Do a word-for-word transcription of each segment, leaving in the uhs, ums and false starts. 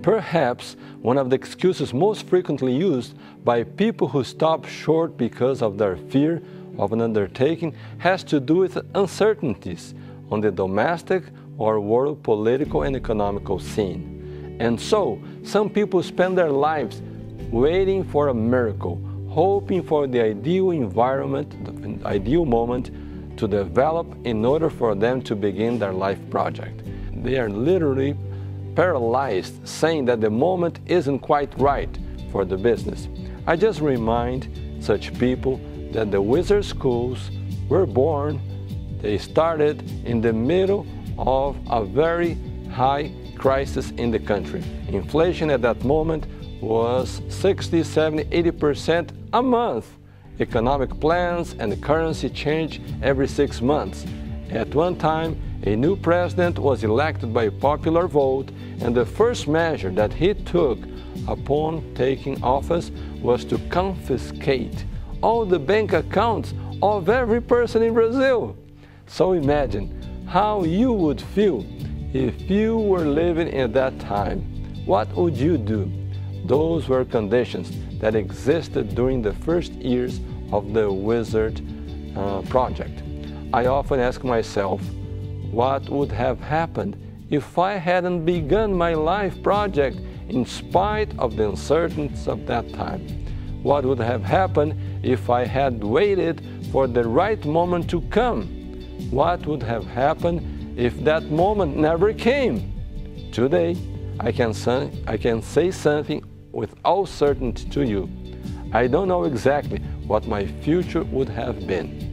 Perhaps one of the excuses most frequently used by people who stop short because of their fear of an undertaking has to do with uncertainties on the domestic or world political and economical scene. And so, some people spend their lives waiting for a miracle, hoping for the ideal environment, the ideal moment to develop in order for them to begin their life project. They are literally paralyzed, saying that the moment isn't quite right for the business. I just remind such people that the wizard schools were born, they started in the middle of a very high crisis in the country. Inflation at that moment was sixty, seventy, eighty percent a month. Economic plans and currency change every six months. At one time, a new president was elected by popular vote, and the first measure that he took upon taking office was to confiscate all the bank accounts of every person in Brazil. So imagine how you would feel if you were living at that time. What would you do? Those were conditions that existed during the first years of the Wizard uh, project. I often ask myself, what would have happened if I hadn't begun my life project in spite of the uncertainties of that time? What would have happened if I had waited for the right moment to come? What would have happened if that moment never came? Today, I can, I can say something with all certainty to you. I don't know exactly what my future would have been.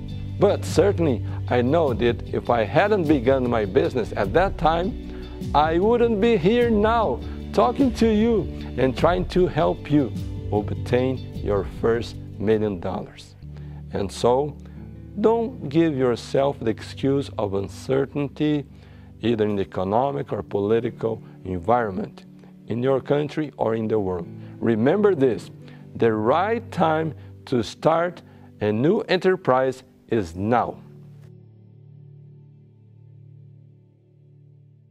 But certainly, I know that if I hadn't begun my business at that time, I wouldn't be here now talking to you and trying to help you obtain your first million dollars. And so, don't give yourself the excuse of uncertainty, either in the economic or political environment, in your country or in the world. Remember this, the right time to start a new enterprise is now.